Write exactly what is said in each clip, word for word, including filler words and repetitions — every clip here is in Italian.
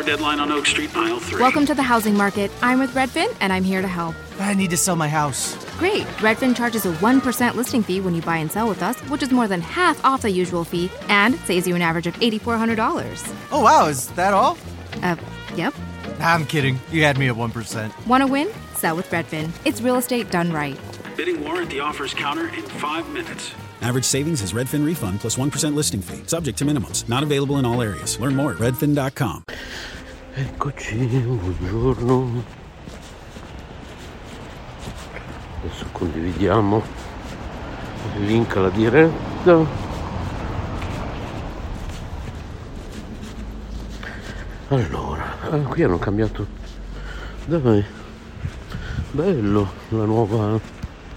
deadline on Oak Street, aisle three. Welcome to the housing market. I'm with Redfin, and I'm here to help. I need to sell my house. Great. Redfin charges a one percent listing fee when you buy and sell with us, which is more than half off the usual fee and saves you an average of eight thousand four hundred dollars. Oh, wow. Is that all? Uh, yep. I'm kidding. You had me at one percent. Want to win? Sell with Redfin. It's real estate done right. Bidding war at the offers counter in five minutes. Average savings is Redfin refund plus one percent listing fee. Subject to minimums. Not available in all areas. Learn more at redfin dot com. Eccoci, buongiorno. Adesso condividiamo il link alla diretta. Allora, ah, qui hanno cambiato. Dai, bello la nuova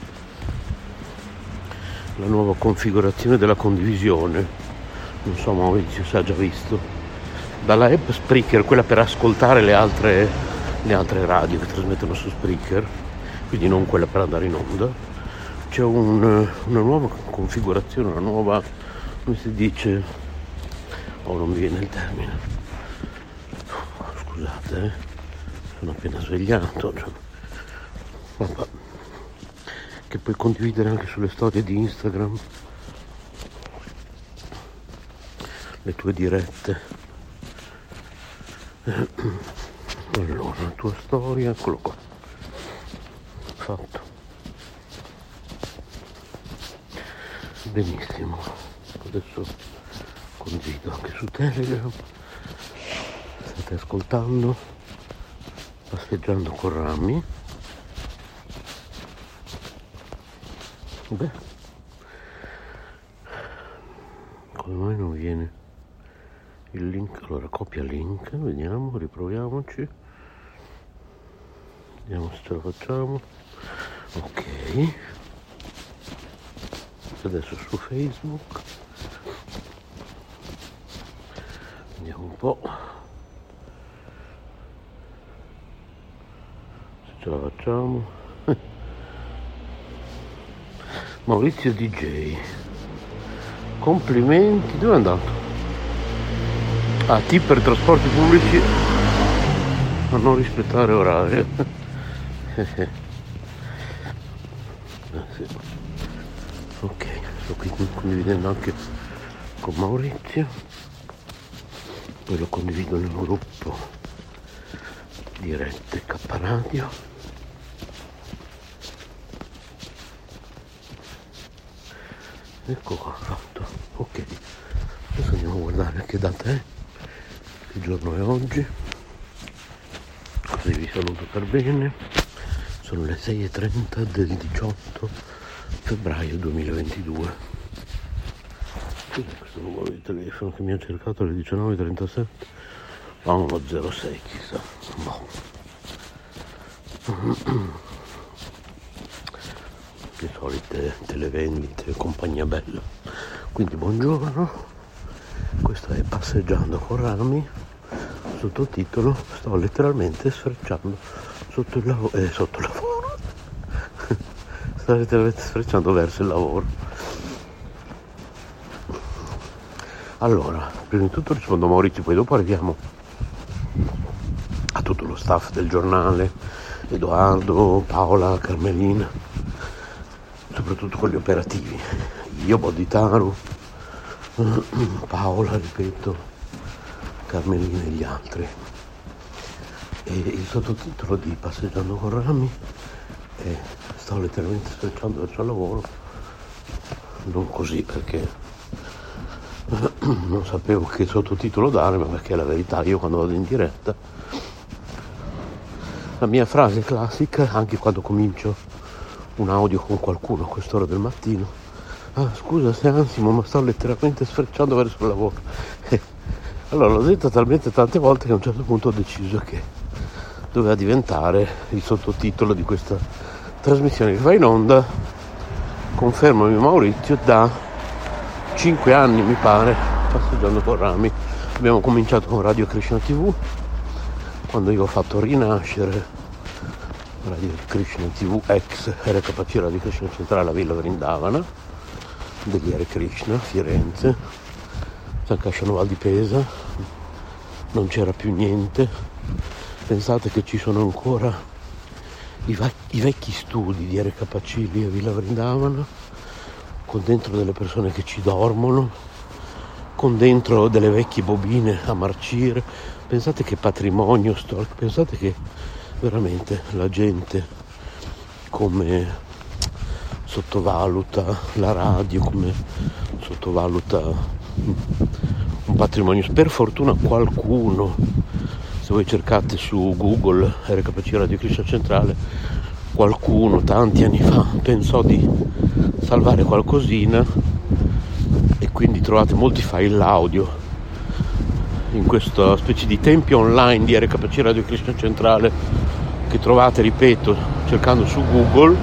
la nuova configurazione della condivisione. Non so, Maurizio se ha già visto. Dalla app Spreaker, quella per ascoltare le altre le altre radio che trasmettono su Spreaker, quindi non quella per andare in onda, c'è un, una nuova configurazione, una nuova, come si dice, oh non mi viene il termine, scusate, eh, sono appena svegliato, cioè, vabbè, che puoi condividere anche sulle storie di Instagram, le tue dirette. Allora, la tua storia, eccolo qua, fatto. Benissimo, adesso condivido anche su Telegram. State ascoltando Passeggiando con Rami. Beh, come mai non viene il link? Allora copia link, vediamo, riproviamoci, vediamo se ce la facciamo. Ok, adesso su Facebook vediamo un po' se ce la facciamo. Maurizio D J, complimenti. Dove è andato? Ah, tip per trasporti pubblici a non rispettare orario. eh, sì. Ok, sto qui condividendo anche con Maurizio, poi lo condivido nel gruppo dirette K Radio. Ecco qua, fatto. Ok, adesso andiamo a guardare che data è, che giorno è oggi, così vi saluto per bene. Sono le sei e trenta del diciotto febbraio duemilaventidue. Cos'è questo numero di telefono che mi ha cercato alle diciannove e trentasette? A uno zero sei, chissà. Boh. Le solite televendite e compagnia bella. Quindi buongiorno, questo è Passeggiando con Rami, sottotitolo sto letteralmente sfrecciando sotto il lavoro, eh, sotto il lavoro sto letteralmente sfrecciando verso il lavoro. Allora, prima di tutto rispondo a Maurizio, poi dopo arriviamo a tutto lo staff del giornale, Edoardo, Paola, Carmelina, soprattutto quelli operativi, io, Boditaru, Paola, ripeto, Carmelina e gli altri. E il sottotitolo di Passeggiando con Rami è sto letteralmente sfrecciando verso il lavoro, non così perché non sapevo che sottotitolo dare, ma perché è la verità. Io quando vado in diretta, la mia frase classica, anche quando comincio un audio con qualcuno a quest'ora del mattino: ah, scusa se ansimo, ma sto letteralmente sfrecciando verso il lavoro. Allora l'ho detto talmente tante volte che a un certo punto ho deciso che doveva diventare il sottotitolo di questa trasmissione che va in onda, confermami Maurizio, da cinque anni mi pare, Passeggiando con Rami. Abbiamo cominciato con Radio Krishna tivù, quando io ho fatto rinascere Radio Krishna tivù, ex R K C Radio Krishna Centrale a Villa Vrindavana, degli Hare Krishna, Firenze, San Casciano Val di Pesa, non c'era più niente. Pensate che ci sono ancora i, va- i vecchi studi di R K C lì a Villa Vrindavana, con dentro delle persone che ci dormono, con dentro delle vecchie bobine a marcire. Pensate che patrimonio storico, pensate che veramente la gente come sottovaluta la radio, come sottovaluta un patrimonio. Per fortuna qualcuno, se voi cercate su Google R K C Radio Cristo Centrale, qualcuno tanti anni fa pensò di salvare qualcosina e quindi trovate molti file audio in questa specie di tempio online di R K C Radio Cristo Centrale che trovate, ripeto, cercando su Google.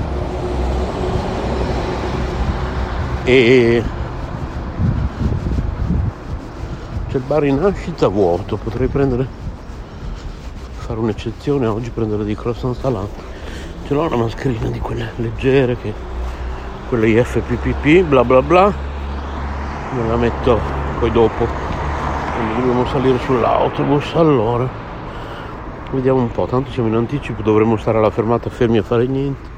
E c'è il bar in nascita vuoto, potrei prendere, fare un'eccezione oggi, prendere dei croissant salati. Ce l'ho una mascherina di quelle leggere, che quelle I F P P P bla bla bla, me la metto poi dopo quando dobbiamo salire sull'autobus. Allora vediamo un po', tanto siamo in anticipo, dovremmo stare alla fermata fermi a fare niente.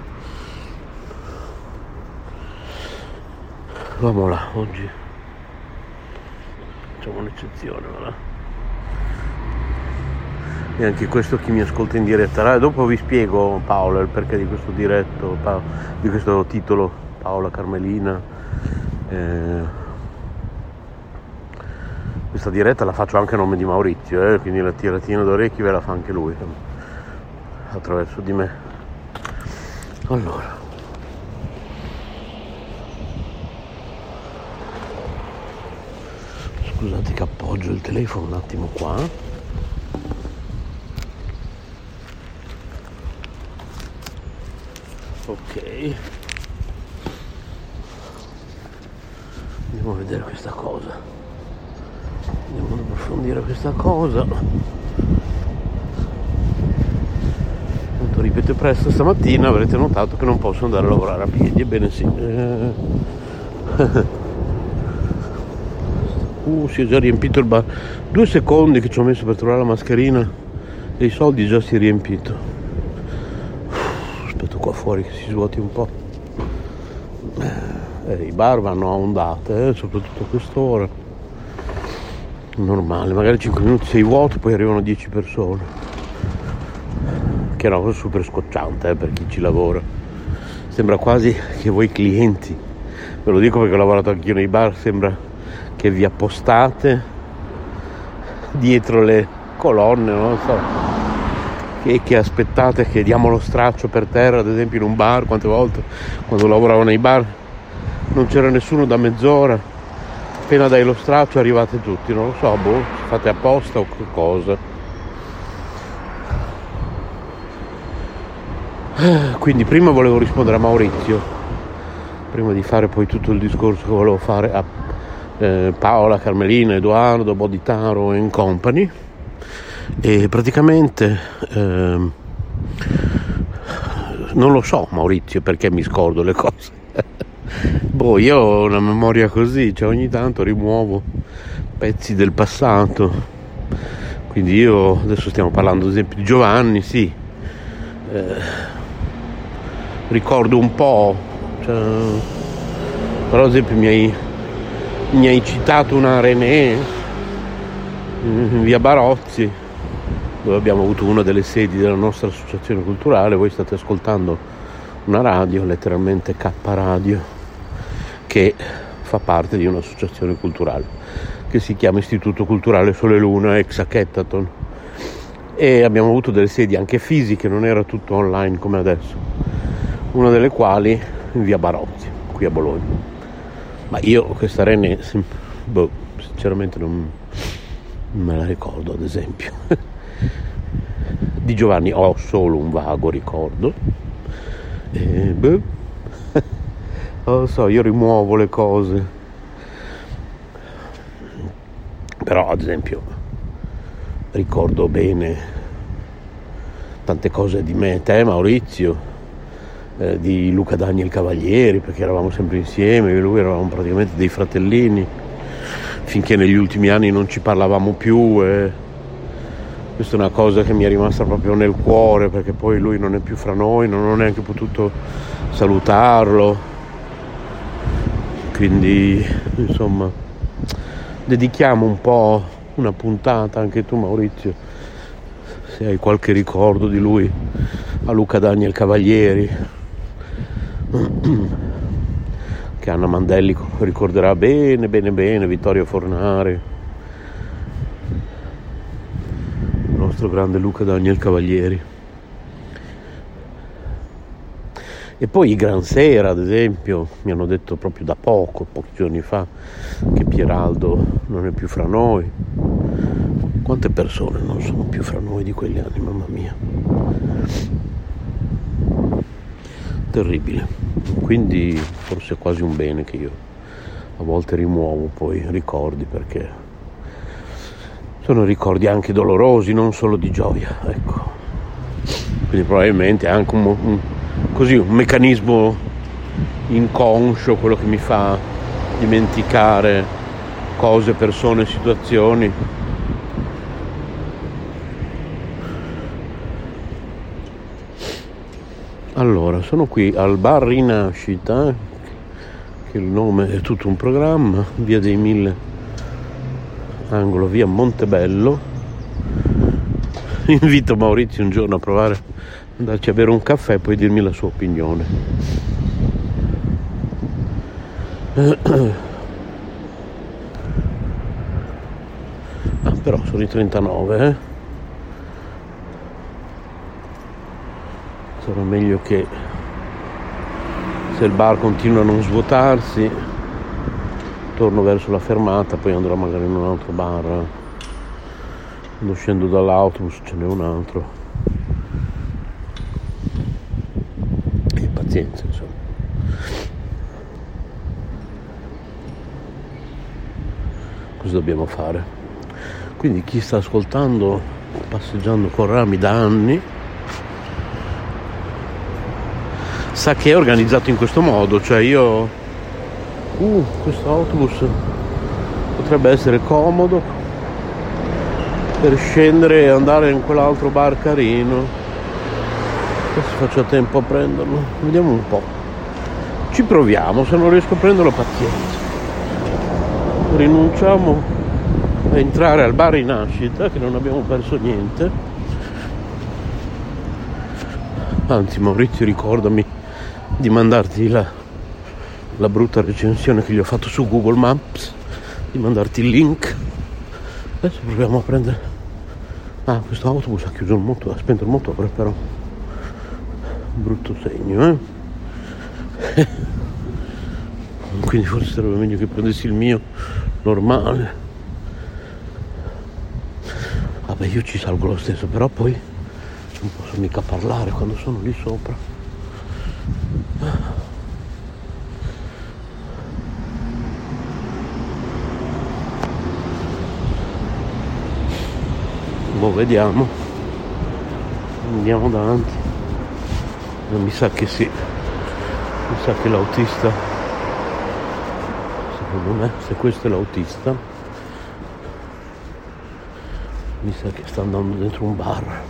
Vamo là, oggi facciamo un'eccezione, voilà. E anche questo chi mi ascolta in diretta, dopo vi spiego, Paola, il perché di questo diretto, pa- di questo titolo, Paola Carmelina. Eh, questa diretta la faccio anche a nome di Maurizio, eh, quindi la tiratina d'orecchi ve la fa anche lui, attraverso di me. Allora, scusate che appoggio il telefono un attimo qua. Ok, andiamo a vedere questa cosa, andiamo ad approfondire questa cosa. Appunto, ripeto presto, stamattina avrete notato che non posso andare a lavorare a piedi, ebbene sì. eh... Uh, si è già riempito il bar. Due secondi che ci ho messo per trovare la mascherina e i soldi già si è riempito. Uh, aspetto qua fuori che si svuoti un po'. Eh, I bar vanno a ondate, eh, soprattutto a quest'ora. Normale, magari cinque minuti sei vuoto, poi arrivano dieci persone. Che è una cosa super scocciante, eh, per chi ci lavora. Sembra quasi che voi clienti, ve lo dico perché ho lavorato anch'io nei bar, sembra che vi appostate dietro le colonne, non so, che, che aspettate che diamo lo straccio per terra. Ad esempio in un bar, quante volte quando lavoravo nei bar non c'era nessuno da mezz'ora, appena dai lo straccio arrivate tutti, non lo so, boh, fate apposta o che cosa. Quindi prima volevo rispondere a Maurizio, prima di fare poi tutto il discorso che volevo fare a Eh, Paola, Carmelina, Edoardo, Boditaro and company. E praticamente eh, non lo so, Maurizio, perché mi scordo le cose. Boh, io ho una memoria così, cioè ogni tanto rimuovo pezzi del passato. Quindi io adesso stiamo parlando ad esempio di Giovanni, sì, eh, ricordo un po', cioè, però ad esempio mi hai mi hai citato una René in via Barozzi, dove abbiamo avuto una delle sedi della nostra associazione culturale. Voi state ascoltando una radio, letteralmente K Radio, che fa parte di un'associazione culturale che si chiama Istituto Culturale Sole Luna ex Hackathon, e abbiamo avuto delle sedi anche fisiche, non era tutto online come adesso, una delle quali in via Barozzi, qui a Bologna. Ma io questa René, boh, sinceramente non me la ricordo, ad esempio. Di Giovanni ho solo un vago ricordo. E, boh, non lo so, io rimuovo le cose. Però, ad esempio, ricordo bene tante cose di me, te, Maurizio, di Luca Daniel Cavalieri, perché eravamo sempre insieme, io e lui eravamo praticamente dei fratellini, finché negli ultimi anni non ci parlavamo più e Questa è una cosa che mi è rimasta proprio nel cuore, perché poi lui non è più fra noi, non ho neanche potuto salutarlo, quindi insomma dedichiamo un po' una puntata, anche tu Maurizio, se hai qualche ricordo di lui, a Luca Daniel Cavalieri, che Anna Mandelli ricorderà bene bene bene, Vittorio Fornari, il nostro grande Luca Daniel Cavalieri. E poi i Gran Sera, ad esempio, mi hanno detto proprio da poco, pochi giorni fa, che Pieraldo non è più fra noi. Quante persone non sono più fra noi di quegli anni, mamma mia. Terribile. Quindi forse è quasi un bene che io a volte rimuovo poi ricordi, perché sono ricordi anche dolorosi, non solo di gioia, ecco. Quindi probabilmente è anche un, un così un meccanismo inconscio quello che mi fa dimenticare cose, persone, situazioni. Allora, sono qui al bar Rinascita, che il nome è tutto un programma, via dei Mille, angolo via Montebello. Invito Maurizio un giorno a provare ad andarci a bere un caffè e poi dirmi la sua opinione. Ah, però sono i trentanove, eh? Sarà meglio che, se il bar continua a non svuotarsi, torno verso la fermata, poi andrò magari in un altro bar. Quando scendo dall'autobus ce n'è un altro. E pazienza, insomma. Cosa dobbiamo fare? Quindi chi sta ascoltando Passeggiando con Rami da anni sa che è organizzato in questo modo, cioè io uh, questo autobus potrebbe essere comodo per scendere e andare in quell'altro bar carino, se faccio tempo a prenderlo, vediamo un po', ci proviamo, se non riesco a prenderlo pazienza, rinunciamo a entrare al bar Rinascita, che non abbiamo perso niente. Anzi Maurizio, ricordami di mandarti la, la brutta recensione che gli ho fatto su Google Maps, di mandarti il link. Adesso proviamo a prendere. Ah, questo autobus ha chiuso il motore, ha spento il motore, però brutto segno, eh? Quindi forse sarebbe meglio che prendessi il mio normale. Vabbè, io ci salgo lo stesso, però poi non posso mica parlare quando sono lì sopra. Boh, vediamo. Andiamo davanti. Mi sa che sì. Mi sa che l'autista, secondo me, se questo è l'autista, mi sa che sta andando dentro un bar.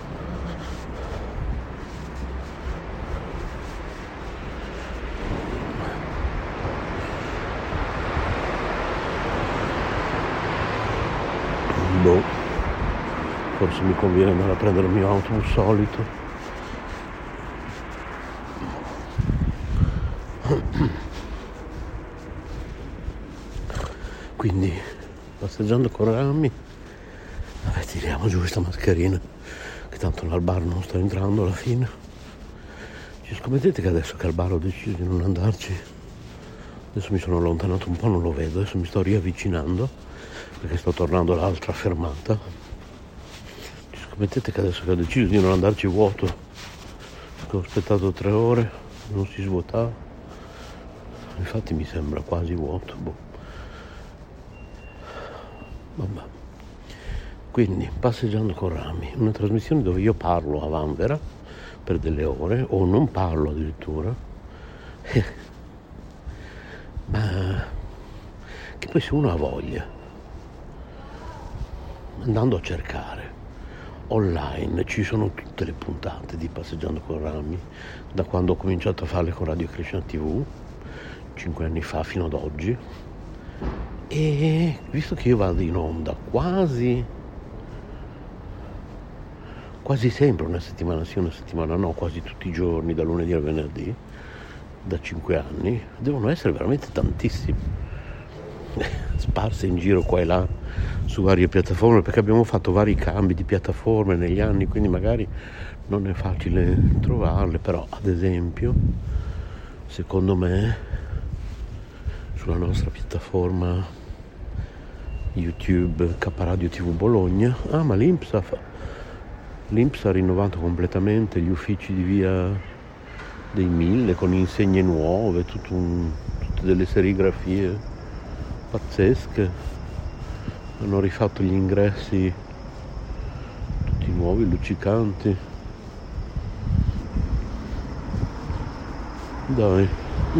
Boh, forse mi conviene andare a prendere il mio autobus solito. Quindi, passeggiando con Rami, vabbè, tiriamo giù questa mascherina, che tanto al bar non sto entrando alla fine. Ci scommettete che adesso che al bar ho deciso di non andarci, adesso mi sono allontanato un po', non lo vedo, adesso mi sto riavvicinando, perché sto tornando all'altra fermata. Ci scommettete che adesso che ho deciso di non andarci vuoto, che ho aspettato tre ore, non si svuotava, infatti mi sembra quasi vuoto, boh. Vabbè. Quindi, passeggiando con Rami, una trasmissione dove io parlo a vanvera per delle ore, o non parlo addirittura, ma che poi se uno ha voglia, andando a cercare online ci sono tutte le puntate di Passeggiando con Rami, da quando ho cominciato a farle con Radio Krishna tivù, cinque anni fa fino ad oggi. E visto che io vado in onda quasi quasi sempre, una settimana sì, una settimana no, quasi tutti i giorni, da lunedì al venerdì, da cinque anni, devono essere veramente tantissimi, sparse in giro qua e là su varie piattaforme, perché abbiamo fatto vari cambi di piattaforme negli anni, quindi magari non è facile trovarle, però ad esempio secondo me sulla nostra piattaforma YouTube K Radio tivù Bologna, ah ma l'I N P S ha, l'I N P S ha rinnovato completamente gli uffici di via dei Mille con insegne nuove, tutto un, tutte delle serigrafie pazzesche, hanno rifatto gli ingressi tutti nuovi, luccicanti, dai.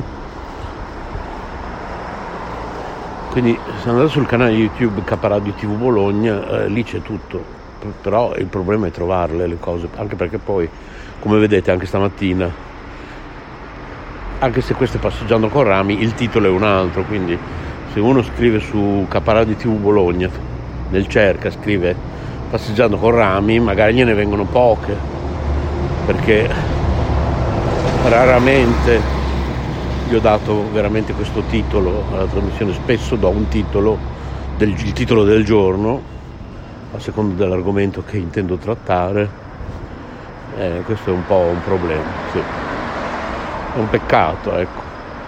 Quindi se andate sul canale YouTube K Radio tivù Bologna, eh, lì c'è tutto, però il problema è trovarle le cose, anche perché poi, come vedete anche stamattina, anche se questo è Passeggiando con Rami, il titolo è un altro, quindi se uno scrive su K Radio tivù Bologna, nel cerca scrive Passeggiando con Rami, magari gliene vengono poche, perché raramente gli ho dato veramente questo titolo alla trasmissione, spesso do un titolo, del, il titolo del giorno, a seconda dell'argomento che intendo trattare, eh, questo è un po' un problema, sì. È un peccato, ecco.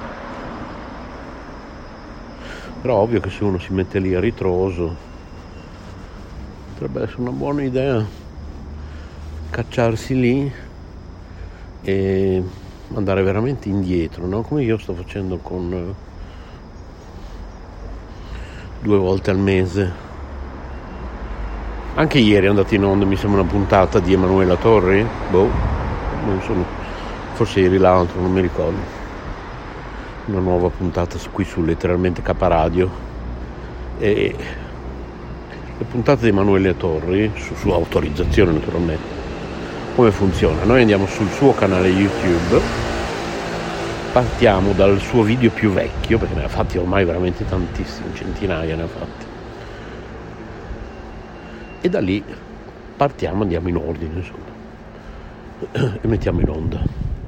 Però ovvio che se uno si mette lì a ritroso, potrebbe essere una buona idea cacciarsi lì e andare veramente indietro, no? Come io sto facendo con uh, due volte al mese. Anche ieri è andata in onda, mi sembra, una puntata di Emanuela Torri, boh, non sono, forse ieri l'altro, non mi ricordo, una nuova puntata qui su letteralmente K Radio, e le puntate di Emanuela Torri, su sua autorizzazione naturalmente. Come funziona? Noi andiamo sul suo canale YouTube, partiamo dal suo video più vecchio, perché ne ha fatti ormai veramente tantissimi, centinaia ne ha fatti, e da lì partiamo, andiamo in ordine, insomma, e mettiamo in onda.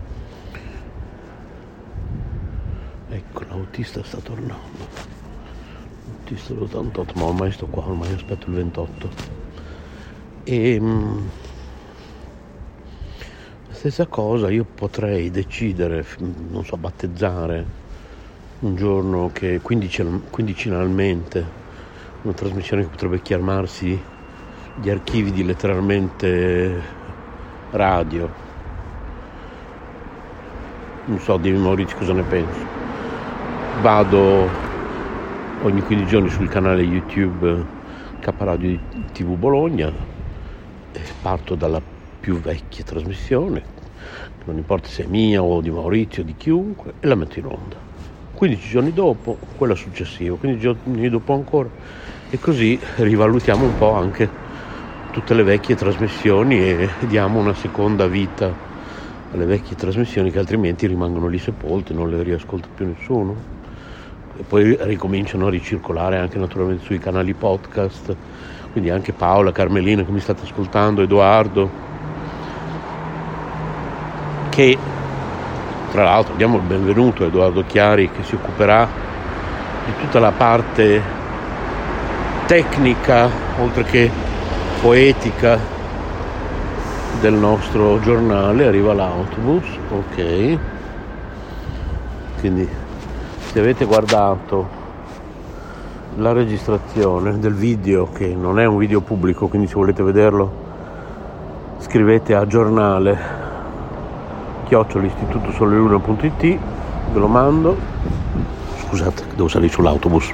Ecco, l'autista sta tornando, l'autista dell'ottantotto, ma ormai sto qua, ormai aspetto il ventotto. E stessa cosa, io potrei decidere, non so, battezzare un giorno che quindici, quindicinalmente una trasmissione che potrebbe chiamarsi Gli archivi di letteralmente radio. Non so, dimmi Maurizio cosa ne pensi. Vado ogni quindici giorni sul canale YouTube K Radio tivù Bologna e parto dalla più vecchia trasmissione, non importa se è mia o di Maurizio o di chiunque, e la metto in onda. quindici giorni dopo quella successiva, quindici giorni dopo ancora, e così rivalutiamo un po' anche tutte le vecchie trasmissioni e diamo una seconda vita alle vecchie trasmissioni che altrimenti rimangono lì sepolte, non le riascolta più nessuno, e poi ricominciano a ricircolare anche naturalmente sui canali podcast, quindi anche Paola, Carmelina che mi state ascoltando, Edoardo, che tra l'altro diamo il benvenuto a Edoardo Chiari, che si occuperà di tutta la parte tecnica oltre che poetica del nostro giornale. Arriva l'autobus, ok, quindi se avete guardato la registrazione del video, che non è un video pubblico, quindi se volete vederlo scrivete a giornale chiocciola istituto soleluna punto it, ve lo mando. Scusate, devo salire sull'autobus.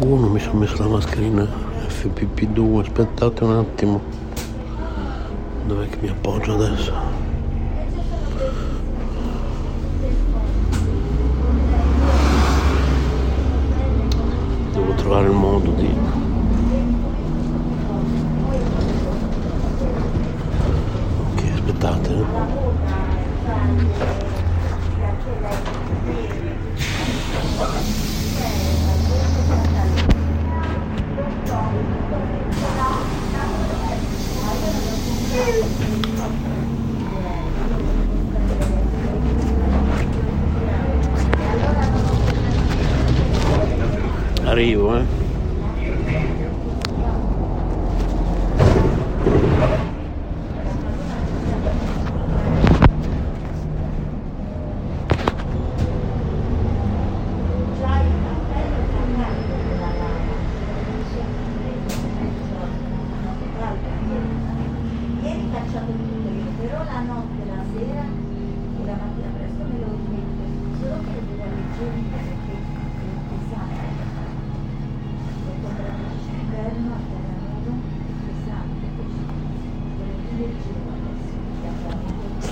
Uh, non mi sono messo la mascherina F P P due, aspettate un attimo. Dov'è che mi appoggio adesso? Devo trovare il modo di... Ok, aspettate. eh. Arrivo, eh. Ieri facciamo tutto io, però la notte, la sera e la mattina presto me lo rimetto, solo che devo leggere perché è pesante. Ho comprato il cisterno a terra nudo, è pesante, così volevo leggere adesso, che abbiamo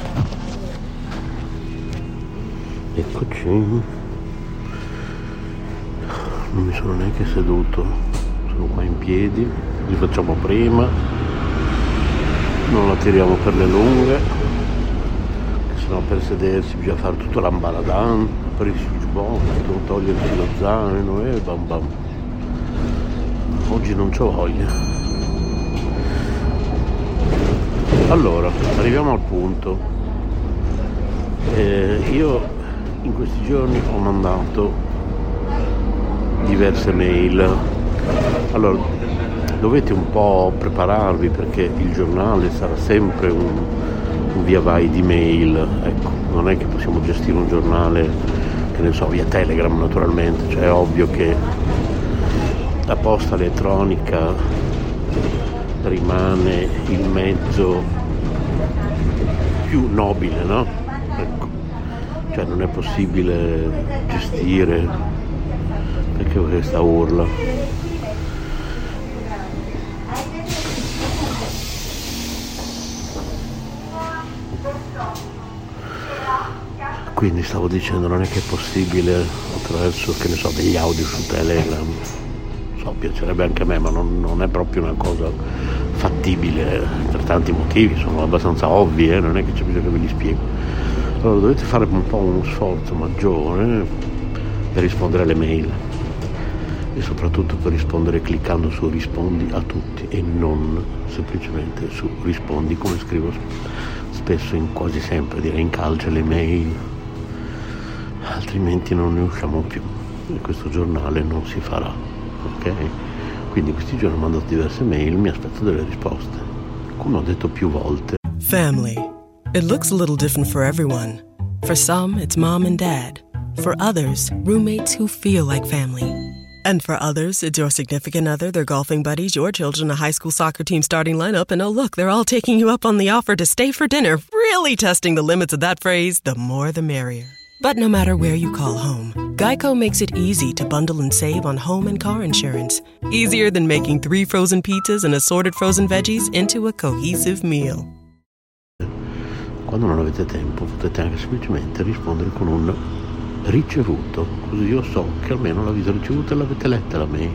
Eccoci. Non mi sono neanche seduto, sono qua in piedi, li facciamo prima. Non la tiriamo per le lunghe, che sennò per sedersi bisogna fare tutto l'ambaradan, aprirsi il giubbotto, togliersi lo zaino e bam bam. Oggi non c'ho voglia. Allora, arriviamo al punto. Eh, io in questi giorni ho mandato diverse mail. Allora, dovete un po' prepararvi perché il giornale sarà sempre un, un via vai di mail, ecco, non è che possiamo gestire un giornale, che ne so, via Telegram naturalmente, cioè è ovvio che la posta elettronica rimane il mezzo più nobile, no? Ecco, cioè non è possibile gestire, perché questa urla. Quindi stavo dicendo, non è che è possibile attraverso, che ne so, degli audio su Telegram, so, piacerebbe anche a me, ma non, non è proprio una cosa fattibile per tanti motivi, sono abbastanza ovvi, eh? Non è che c'è bisogno che ve li spiego. Allora dovete fare un po' uno sforzo maggiore per rispondere alle mail e soprattutto per rispondere cliccando su rispondi a tutti e non semplicemente su rispondi, come scrivo spesso, in quasi sempre, direi in calce le mail, altrimenti non ne usciamo più e questo giornale non si farà, ok? Quindi questi giorni ho mandato diverse mail, mi aspetto delle risposte, come ho detto più volte. Family. It looks a little different for everyone. For some, it's mom and dad. For others, roommates who feel like family. And for others, it's your significant other, their golfing buddies, your children, a high school soccer team starting lineup, and oh look, they're all taking you up on the offer to stay for dinner, really testing the limits of that phrase, the more the merrier. But no matter where you call home, Geico makes it easy to bundle and save on home and car insurance. Easier than making three frozen pizzas and assorted frozen veggies into a cohesive meal. Quando non avete tempo potete anche semplicemente rispondere con un ricevuto, così io so che almeno l'avete ricevuta e l'avete letta la mail,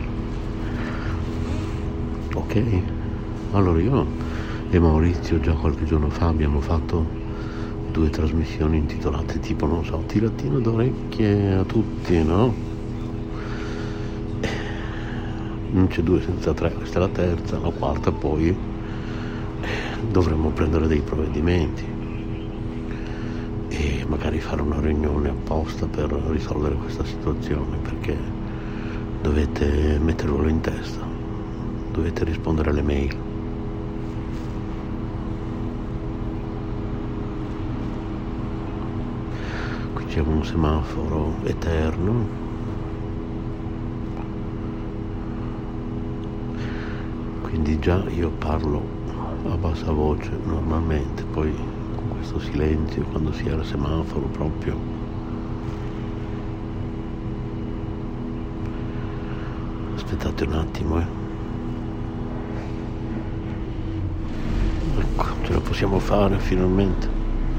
ok? Allora io e Maurizio già qualche giorno fa abbiamo fatto due trasmissioni intitolate tipo, non so, tiratino d'orecchie a tutti, no? Non c'è due senza tre, questa è la terza, la quarta poi dovremmo prendere dei provvedimenti e magari fare una riunione apposta per risolvere questa situazione, perché dovete mettervelo in testa, dovete rispondere alle mail. Qui c'è un semaforo eterno, quindi già io parlo a bassa voce normalmente, poi con questo silenzio quando si era semaforo proprio Aspettate un attimo, eh. Ecco, ce la possiamo fare finalmente.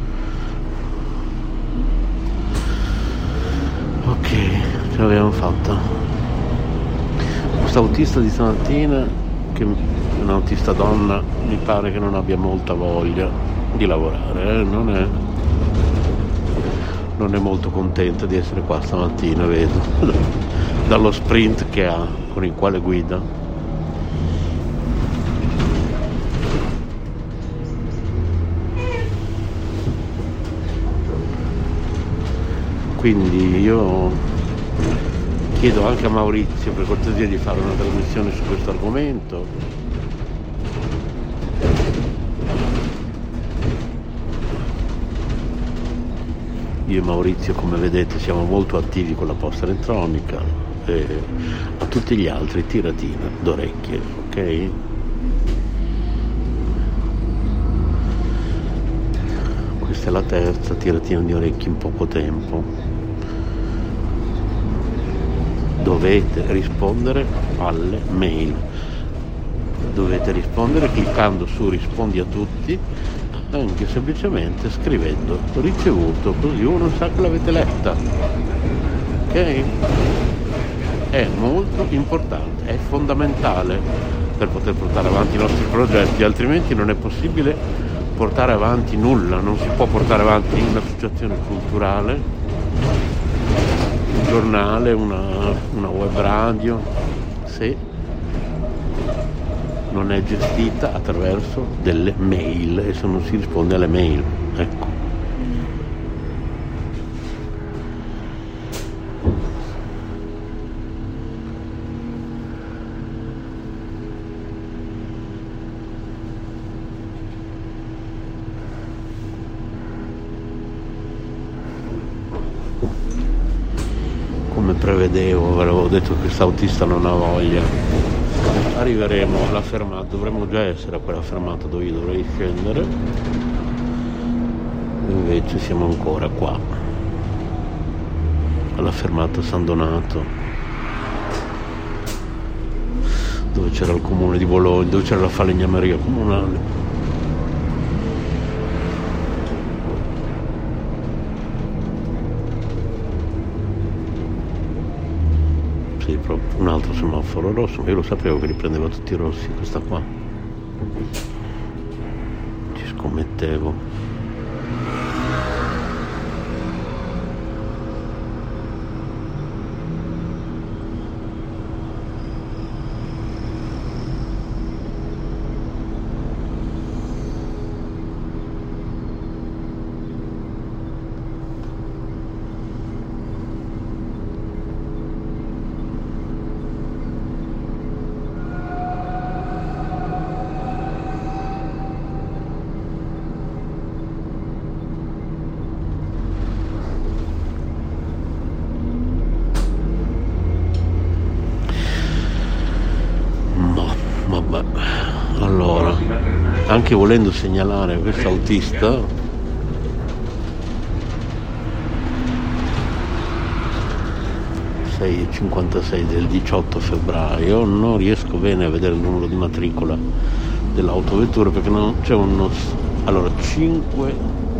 Ok, ce l'abbiamo fatta. Questa autista di stamattina, che è un'autista donna, mi pare che non abbia molta voglia di lavorare, eh? non è non è molto contenta di essere qua stamattina, vedo dallo sprint che ha, con il quale guida. Quindi io chiedo anche a Maurizio per cortesia di fare una trasmissione su questo argomento. Io e Maurizio, come vedete, siamo molto attivi con la posta elettronica, e a tutti gli altri tiratina d'orecchie, ok? Questa è la terza tiratina di orecchie in poco tempo. Dovete rispondere alle mail. Dovete rispondere cliccando su rispondi a tutti, anche semplicemente scrivendo ricevuto, così uno sa che l'avete letta, ok? È molto importante, è fondamentale per poter portare avanti i nostri progetti, altrimenti non è possibile portare avanti nulla. Non si può portare avanti un'associazione culturale, un giornale, una, una web radio, se non è gestita attraverso delle mail e se non si risponde alle mail, ecco. Come prevedevo, ve l'avevo detto che questo autista non ha voglia. Arriveremo alla fermata, dovremmo già essere a quella fermata dove io dovrei scendere, invece siamo ancora qua alla fermata San Donato, dove c'era il comune di Bologna, dove c'era la falegnameria comunale. Un altro semaforo rosso, ma io lo sapevo che li prendeva tutti rossi, questa qua ci scommettevo. Allora, anche volendo segnalare questo autista, sei e cinquantasei del diciotto febbraio, non riesco bene a vedere il numero di matricola dell'autovettura perché non c'è uno. Allora, cinque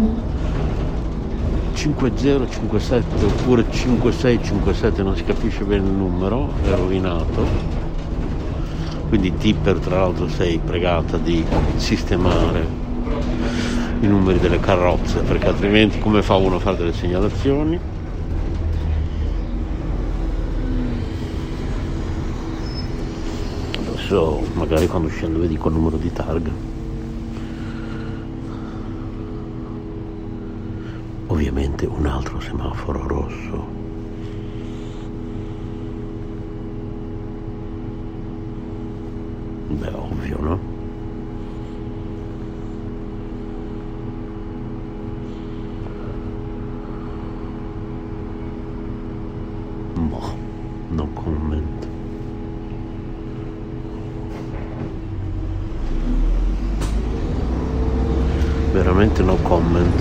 zero cinque sette oppure cinque sei cinque sette, non si capisce bene il numero, è rovinato. Quindi Tipper, tra l'altro, sei pregata di sistemare i numeri delle carrozze, perché altrimenti come fa uno a fare delle segnalazioni? Adesso magari quando scendo vi dico il numero di targa. Ovviamente un altro semaforo rosso. Beh, ovvio, no? Boh, no comment. Veramente no comment.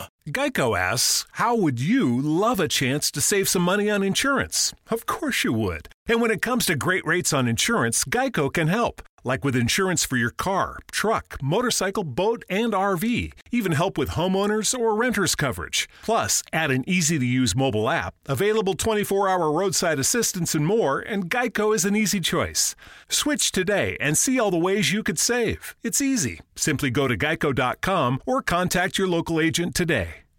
Geico asks, how would you love a chance to save some money on insurance? Of course you would. And when it comes to great rates on insurance, Geico can help. Like with insurance for your car, truck, motorcycle, boat, and R V. Even help with homeowners or renters coverage. Plus, add an easy-to-use mobile app, available twenty-four hour roadside assistance and more, and Geico is an easy choice. Switch today and see all the ways you could save. It's easy. Simply go to geico dot com or contact your local agent today.